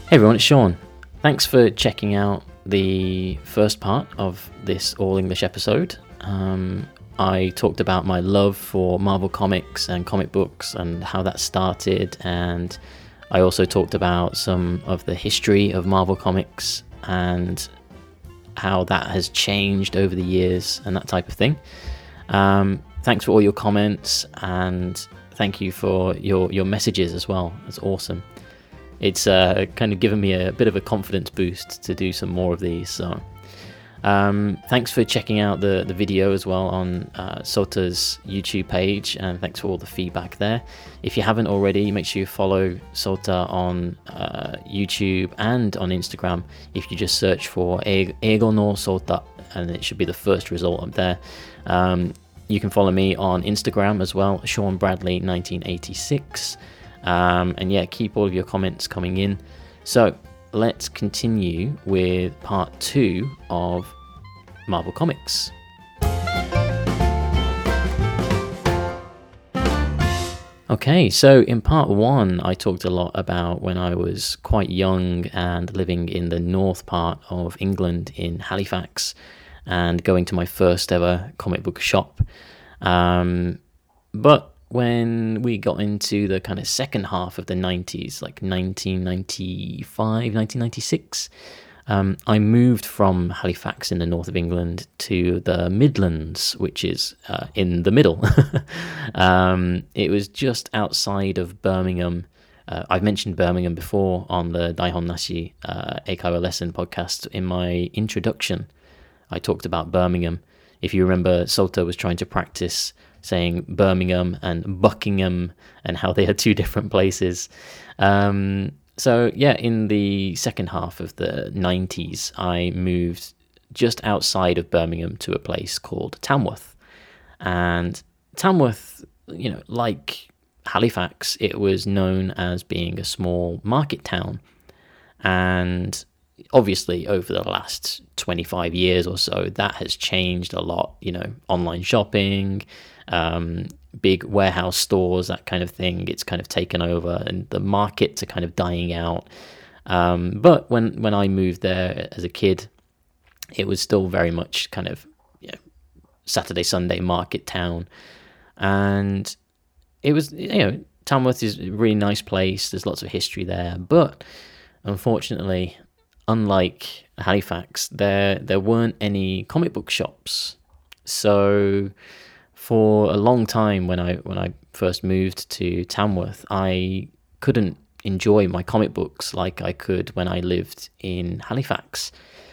Hey everyone, it's Sean. Thanks for checking out the first part of this all English episode. I talked about my love for Marvel Comics and comic books and how that started, and I also talked about some of the history of Marvel Comics and how that has changed over the years and that type of thing. Thanks for all your comments, and thank you for your messages as well. That's awesome. It's kind of given me a bit of a confidence boost to do some more of these. So thanks for checking out the video as well on Sota's YouTube page, and thanks for all the feedback there. If you haven't already, make sure you follow Sota on YouTube and on Instagram. If you just search for Eigo no Sota, and it should be the first result up there. You can follow me on Instagram as well, Sean Bradley 1986. And yeah, keep all of your comments coming in. So let's continue with part 2 of Marvel Comics. Okay, so in part 1, I talked a lot about when I was quite young and living in the north part of England in Halifax and going to my first ever comic book shop. But when we got into the kind of second half of the 90s, like 1995, 1996, I moved from Halifax in the north of England to the Midlands, which is in the middle. It was just outside of Birmingham. I've mentioned Birmingham before on the Daihon Nashi Eikaiwa Lesson podcast. In my introduction, I talked about Birmingham. If you remember, Sota was trying to practice saying Birmingham and Buckingham and how they are two different places. So yeah, in the second half of the 90s, I moved just outside of Birmingham to a place called Tamworth. And Tamworth, you know, like Halifax, it was known as being a small market town. And obviously, over the last 25 years or so, that has changed a lot. You know, online shopping, big warehouse stores, that kind of thing. It's kind of taken over, and the markets are kind of dying out. But when I moved there as a kid, it was still very much kind of, you know, Saturday, Sunday market town. And it was, you know, Tamworth is a really nice place. There's lots of history there. But unfortunately, unlike Halifax, there weren't any comic book shops. So for a long time, when I first moved to Tamworth, I couldn't enjoy my comic books like I could when I lived in Halifax.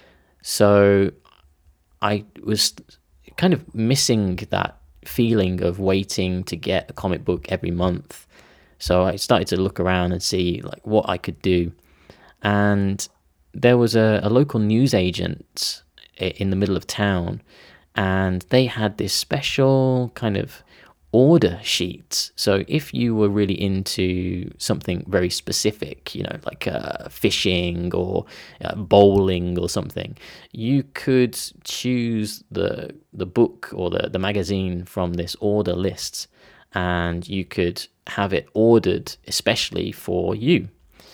So I was kind of missing that feeling of waiting to get a comic book every month. So I started to look around and see like what I could do. And there was a local newsagent in the middle of town, and they had this special kind of order sheet. So if you were really into something very specific, you know, like fishing or bowling or something, you could choose the book or the magazine from this order list, and you could have it ordered especially for you.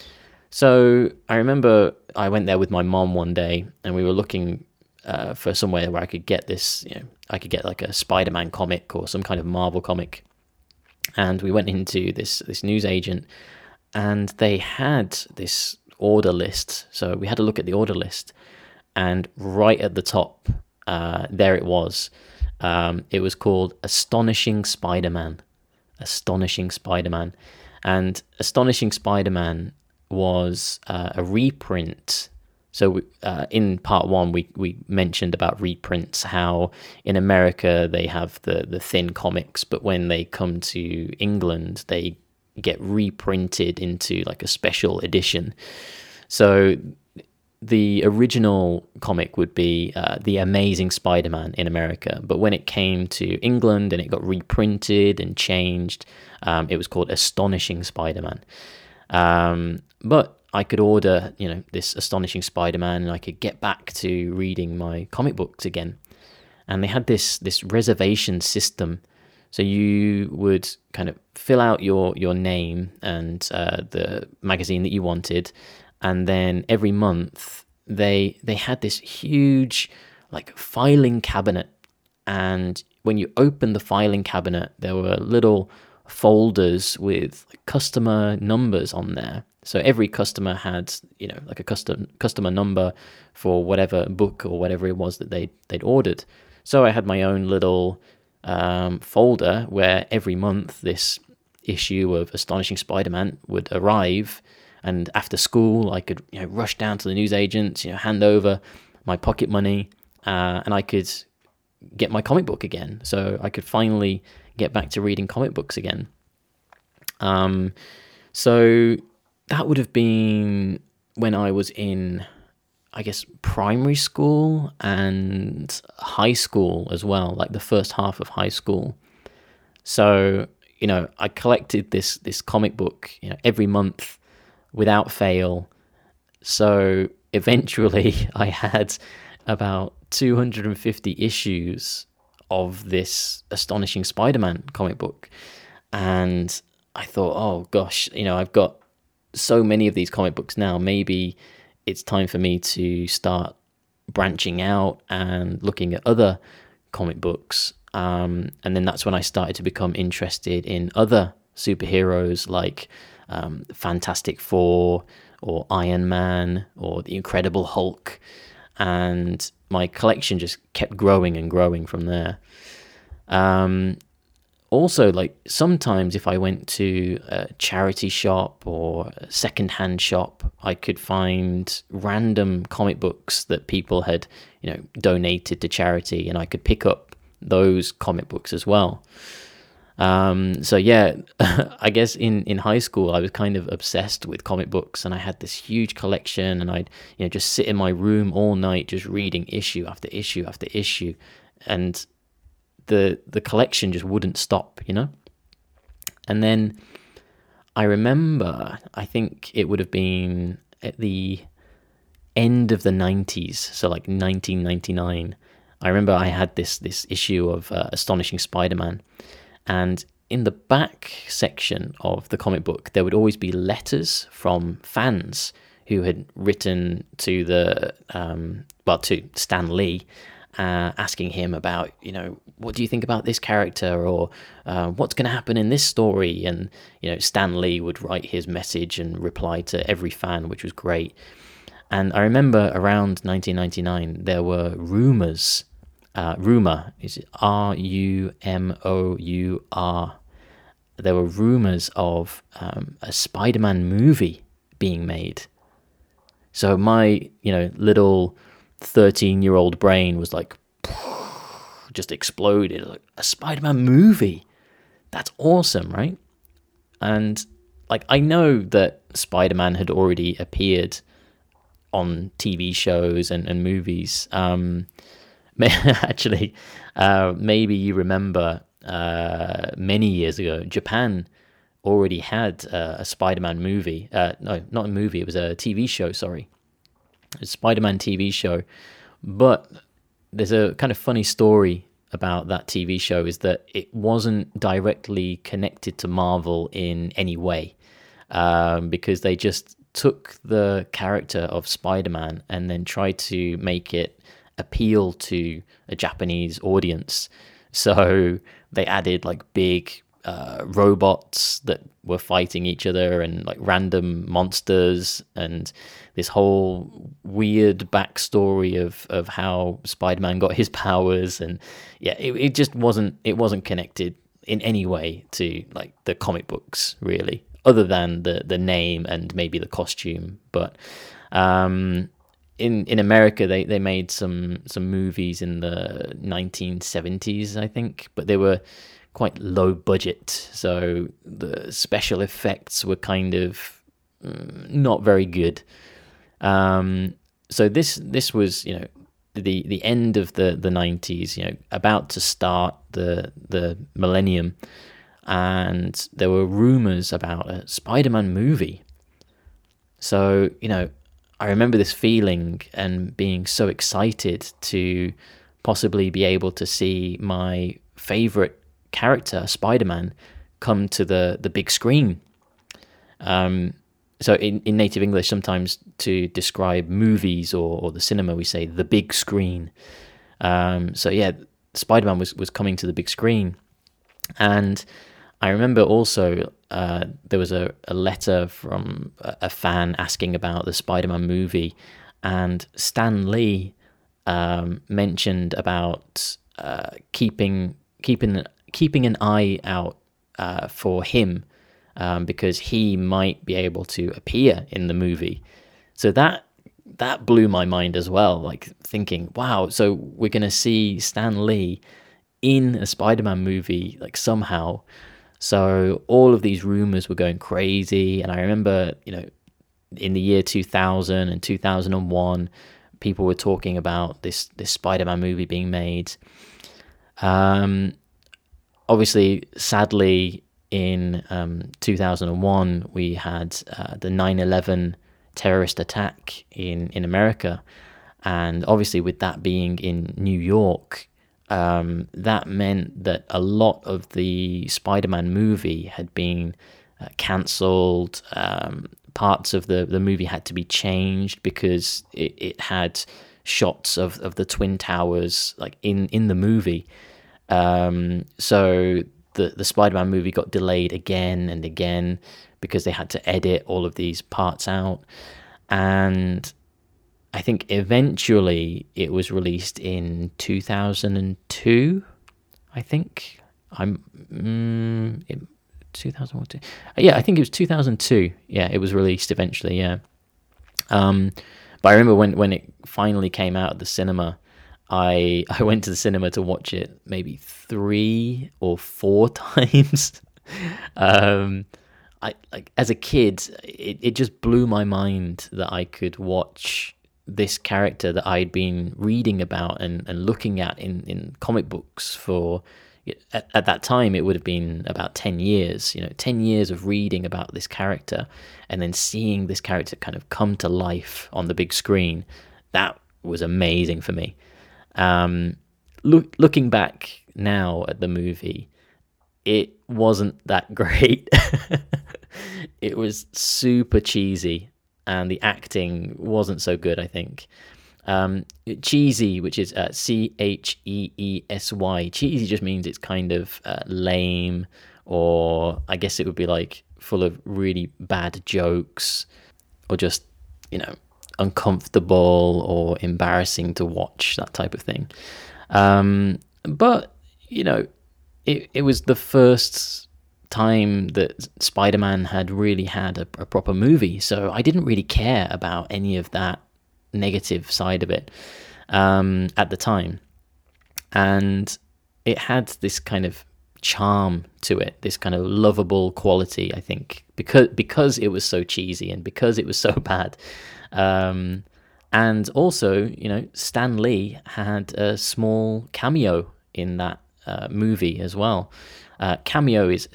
So I remember I went there with my mom one day, and we were looking for somewhere where I could get this, you know, I could get like a Spider-Man comic or some kind of Marvel comic. And we went into this newsagent, and they had this order list. So we had a look at the order list, and right at the top, there it was. It was called Astonishing Spider-Man. Astonishing Spider-Man. And Astonishing Spider-Man was a reprint. So in part 1, we mentioned about reprints, how in America they have the thin comics, but when they come to England, they get reprinted into like a special edition. So the original comic would be The Amazing Spider-Man in America, but when it came to England and it got reprinted and changed, it was called Astonishing Spider-Man. But I could order, you know, this Astonishing Spider-Man, and I could get back to reading my comic books again. And they had this reservation system. So you would kind of fill out your name and the magazine that you wanted, And then every month they had this huge like filing cabinet, and when you open the filing cabinet, there were little folders with customer numbers on there. So every customer had, like a customer number for whatever book or whatever it was that they'd ordered. So I had my own little folder where every month this issue of Astonishing Spider-Man would arrive, and after school I could rush down to the newsagents, hand over my pocket money, and I could get my comic book again. So I could finally get back to reading comic books again. So that would have been when I was in, I guess, primary school and high school as well, like the first half of high school. So, I collected this comic book, every month without fail. So eventually I had about 250 issues of this Astonishing Spider-Man comic book. And I thought, oh gosh, I've got so many of these comic books now. Maybe it's time for me to start branching out and looking at other comic books. And then that's when I started to become interested in other superheroes like Fantastic Four or Iron Man or the Incredible Hulk. And my collection just kept growing and growing from there. Also, like sometimes if I went to a charity shop or a secondhand shop, I could find random comic books that people had, donated to charity, and I could pick up those comic books as well. So yeah, I guess in high school I was kind of obsessed with comic books, and I had this huge collection, and I'd just sit in my room all night just reading issue after issue after issue, and the collection just wouldn't stop, And then I remember, I think it would have been at the end of the 90s, so like 1999. I remember I had this issue of Astonishing Spider-Man, and in the back section of the comic book, there would always be letters from fans who had written to to Stan Lee, asking him about, what do you think about this character, or what's going to happen in this story? And, Stan Lee would write his message and reply to every fan, which was great. And I remember around 1999, there were rumors. Rumor, is it Rumour? There were rumors of a Spider-Man movie being made. So my, little 13-year-old brain was like, just exploded. Like, a Spider-Man movie? That's awesome, right? And like, I know that Spider-Man had already appeared on TV shows and movies. Actually, maybe you remember many years ago, Japan already had a Spider-Man movie. No, not a movie. It was a TV show, sorry. A Spider-Man TV show. But there's a kind of funny story about that TV show, is that it wasn't directly connected to Marvel in any way, because they just took the character of Spider-Man and then tried to make it appeal to a Japanese audience. So they added like big robots that were fighting each other, and like random monsters, and this whole weird backstory of how Spider-Man got his powers. And yeah, it just wasn't connected in any way to like the comic books, really, other than the name and maybe the costume. But in America, they made some movies in the 1970s, I think, but they were quite low budget, so the special effects were kind of not very good. So this was the end of the 90s, about to start the millennium, and there were rumors about a Spider-Man movie. So I remember this feeling and being so excited to possibly be able to see my favorite character, Spider-Man, come to the big screen. so in native English, sometimes to describe movies or the cinema, we say the big screen. So yeah, Spider-Man was coming to the big screen. And I remember also there was a letter from a fan asking about the Spider-Man movie, and Stan Lee mentioned about keeping an eye out for him, because he might be able to appear in the movie. So that blew my mind as well. Like thinking, wow, so we're gonna see Stan Lee in a Spider-Man movie, like somehow. So all of these rumors were going crazy, and I remember, in the year 2000 and 2001, people were talking about this Spider-Man movie being made. Obviously, sadly, in 2001, we had the 9/11 terrorist attack in America, and obviously with that being in New York, that meant that a lot of the Spider-Man movie had been cancelled. Parts of the movie had to be changed because it had shots of the Twin Towers like in the movie. So the Spider-Man movie got delayed again and again because they had to edit all of these parts out. And I think eventually it was released in 2002. I think 2002. Yeah, I think it was 2002. Yeah, it was released eventually. Yeah. But I remember when it finally came out at the cinema, I went to the cinema to watch it maybe 3 or 4 times. I like as a kid, it just blew my mind that I could watch this character that I'd been reading about and looking at in comic books for, at that time it would have been about 10 years, 10 years of reading about this character and then seeing this character kind of come to life on the big screen. That was amazing for me. Looking back now at the movie, it wasn't that great. It was super cheesy, and the acting wasn't so good, I think. Cheesy, which is Cheesy. Cheesy just means it's kind of lame, or I guess it would be like full of really bad jokes, or just, uncomfortable or embarrassing to watch, that type of thing. But, it was the first time that Spider-Man had really had a proper movie, so I didn't really care about any of that negative side of it at the time. And it had this kind of charm to it, this kind of lovable quality, I think, because it was so cheesy and because it was so bad. And also, Stan Lee had a small cameo in that movie as well. Cameo is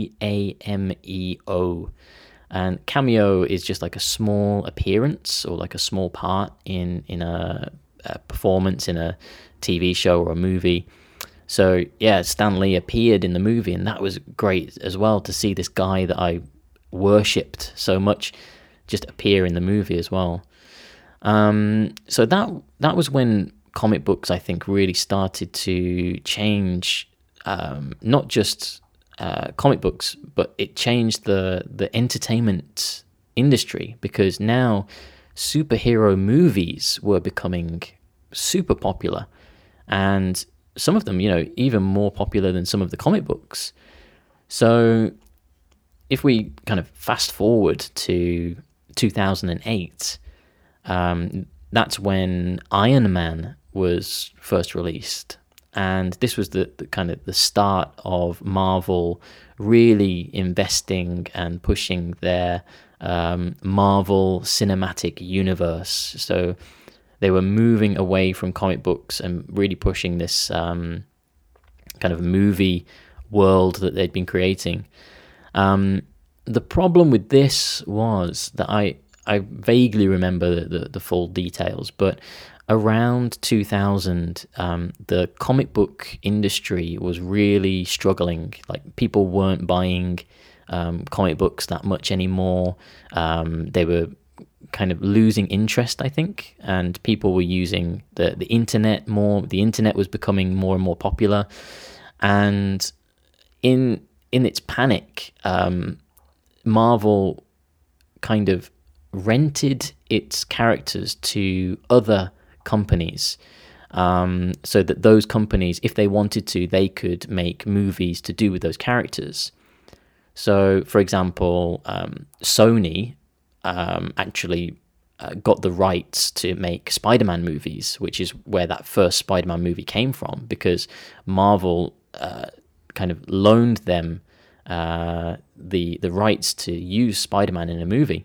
Cameo, and cameo is just like a small appearance or like a small part in a performance in a TV show or a movie. So yeah, Stan Lee appeared in the movie, and that was great as well, to see this guy that I worshipped so much just appear in the movie as well. So that was when comic books, I think, really started to change. Not just comic books, but it changed the entertainment industry, because now superhero movies were becoming super popular, and some of them, even more popular than some of the comic books. So if we kind of fast forward to 2008, that's when Iron Man was first released. And this was the kind of the start of Marvel really investing and pushing their Marvel Cinematic Universe. So they were moving away from comic books and really pushing this kind of movie world that they'd been creating. The problem with this was that I vaguely remember the full details, but around 2000, the comic book industry was really struggling. Like, people weren't buying comic books that much anymore. They were kind of losing interest, I think, and people were using the internet more. The internet was becoming more and more popular, and in its panic, Marvel kind of rented its characters to other companies, so that those companies, if they wanted to, they could make movies to do with those characters. So, for example, Sony actually got the rights to make Spider-Man movies, which is where that first Spider-Man movie came from, because Marvel kind of loaned them the rights to use Spider-Man in a movie.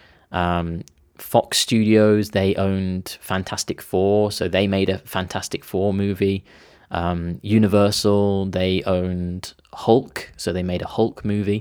Fox Studios, they owned Fantastic Four, so they made a Fantastic Four movie. Universal, they owned Hulk, so they made a Hulk movie.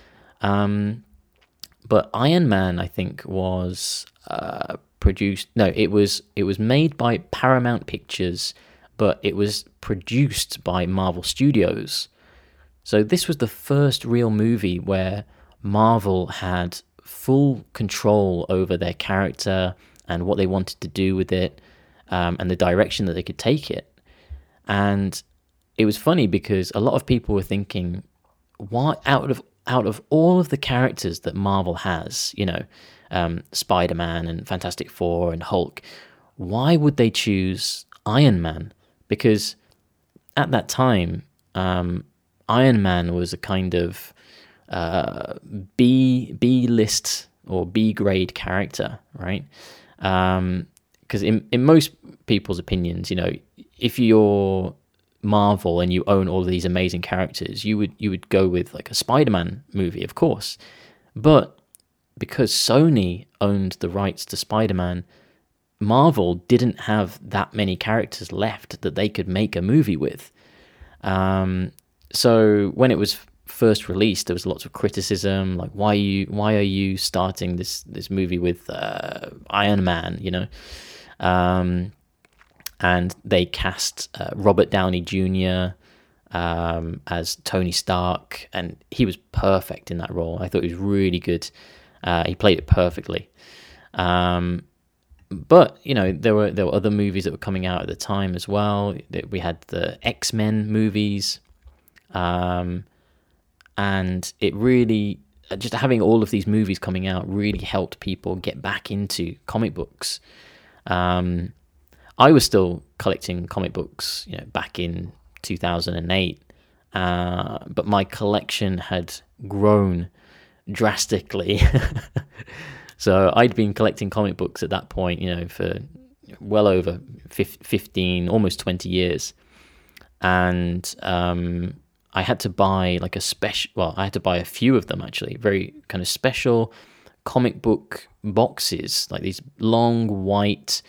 But Iron Man, I think, was produced. No, it was made by Paramount Pictures, but it was produced by Marvel Studios. So this was the first real movie where Marvel had full control over their character and what they wanted to do with it, and the direction that they could take it. And it was funny because a lot of people were thinking, why, out of all of the characters that Marvel has, Spider-Man and Fantastic Four and Hulk, why would they choose Iron Man? Because at that time, Iron Man was a kind of B list or B grade character, right? Because in most people's opinions, if you're Marvel and you own all of these amazing characters, you would go with like a Spider-Man movie, of course. But because Sony owned the rights to Spider-Man, Marvel didn't have that many characters left that they could make a movie with. So when it was first released, there was lots of criticism, like why are you starting this movie with Iron Man, and they cast Robert Downey Jr. As Tony Stark, and he was perfect in that role. I thought he was really good. He played it perfectly. But there were other movies that were coming out at the time as well. We had the X-Men movies, and it really, just having all of these movies coming out really helped people get back into comic books. I was still collecting comic books, back in 2008, but my collection had grown drastically. So I'd been collecting comic books at that point, for well over 15, almost 20 years. And I had to buy like I had to buy a few of them actually, very kind of special comic book boxes, like these long white,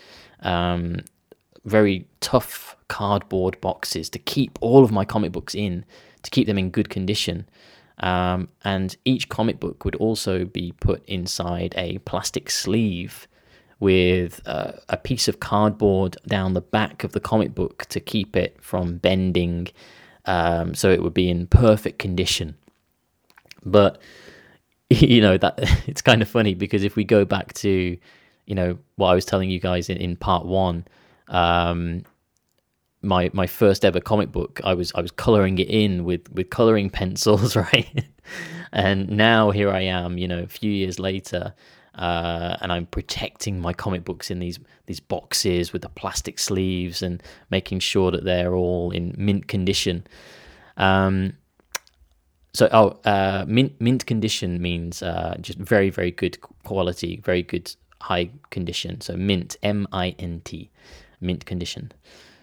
very tough cardboard boxes to keep all of my comic books in, to keep them in good condition. And each comic book would also be put inside a plastic sleeve with a piece of cardboard down the back of the comic book to keep it from bending, so it would be in perfect condition. But that it's kind of funny, because if we go back to what I was telling you guys in part one, my first ever comic book, I was coloring it in with coloring pencils, right? And now here I am, a few years later, and I'm protecting my comic books in these boxes with the plastic sleeves and making sure that they're all in mint condition. Mint condition means just very, very good quality, very good high condition. So mint, M-I-N-T, mint condition.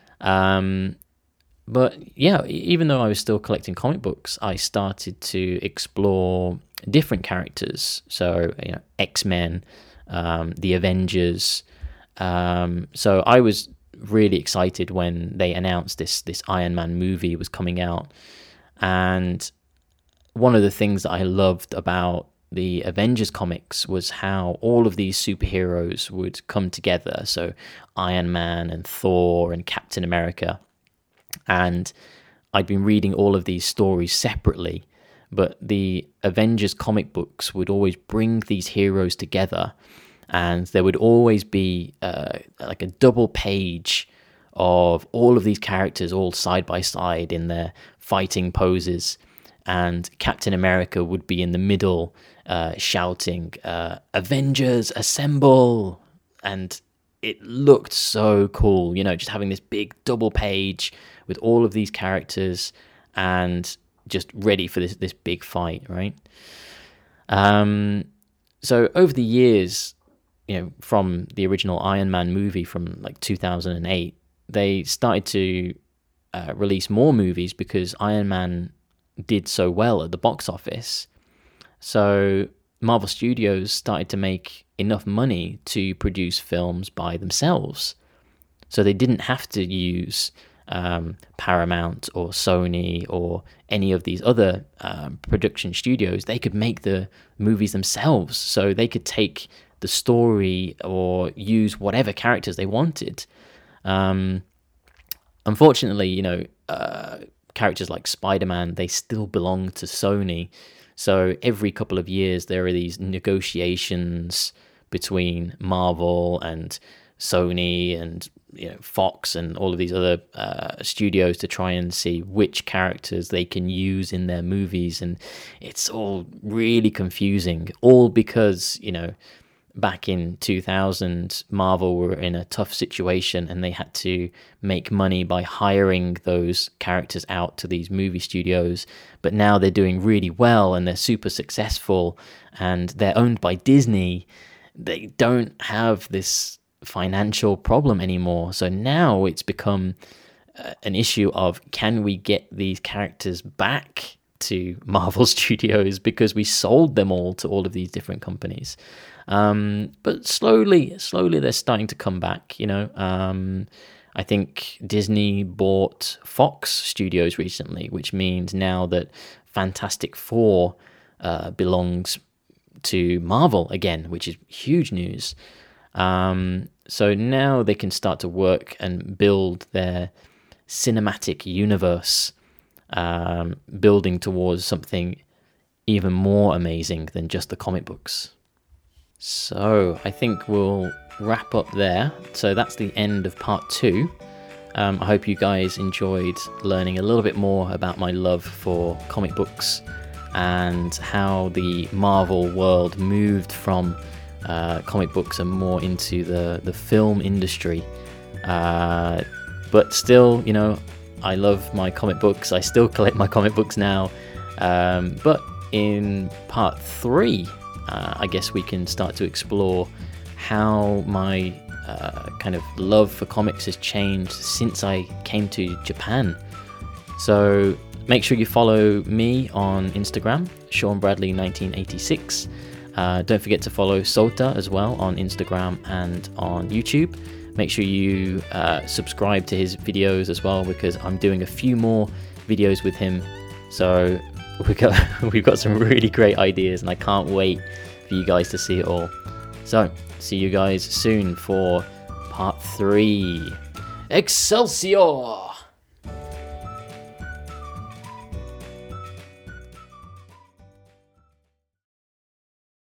But yeah, even though I was still collecting comic books, I started to explore different characters. So, X-Men, the Avengers. So I was really excited when they announced this Iron Man movie was coming out. And one of the things that I loved about the Avengers comics was how all of these superheroes would come together. So Iron Man and Thor and Captain America. And I'd been reading all of these stories separately, but the Avengers comic books would always bring these heroes together, and there would always be like a double page of all of these characters all side by side in their fighting poses, and Captain America would be in the middle shouting, Avengers assemble, and it looked so cool, just having this big double page with all of these characters and just ready for this big fight, right? So over the years, from the original Iron Man movie from like 2008, they started to release more movies because Iron Man did so well at the box office. So Marvel Studios started to make enough money to produce films by themselves. So they didn't have to use Paramount or Sony or any of these other production studios. They could make the movies themselves. So they could take the story or use whatever characters they wanted. Unfortunately, characters like Spider-Man, they still belong to Sony. So every couple of years, there are these negotiations between Marvel and Sony and Fox and all of these other studios to try and see which characters they can use in their movies. And it's all really confusing, all because, back in 2000, Marvel were in a tough situation and they had to make money by hiring those characters out to these movie studios. But now they're doing really well and they're super successful and they're owned by Disney. They don't have this financial problem anymore. So now it's become an issue of, can we get these characters back to Marvel Studios because we sold them all to all of these different companies? But slowly they're starting to come back, I think Disney bought Fox Studios recently, which means now that Fantastic Four belongs to Marvel again, which is huge news. So now they can start to work and build their cinematic universe, building towards something even more amazing than just the comic books. So I think we'll wrap up there. So that's the end of part 2. I hope you guys enjoyed learning a little bit more about my love for comic books and how the Marvel world moved from comic books and more into the film industry. But still, I love my comic books. I still collect my comic books now. But in part 3, I guess we can start to explore how my kind of love for comics has changed since I came to Japan. So make sure you follow me on Instagram, Sean Bradley 1986. Don't forget to follow Sota as well on Instagram and on YouTube. Make sure you subscribe to his videos as well, because I'm doing a few more videos with him. So we've got some really great ideas, and I can't wait for you guys to see it all. So see you guys soon for part 3. Excelsior!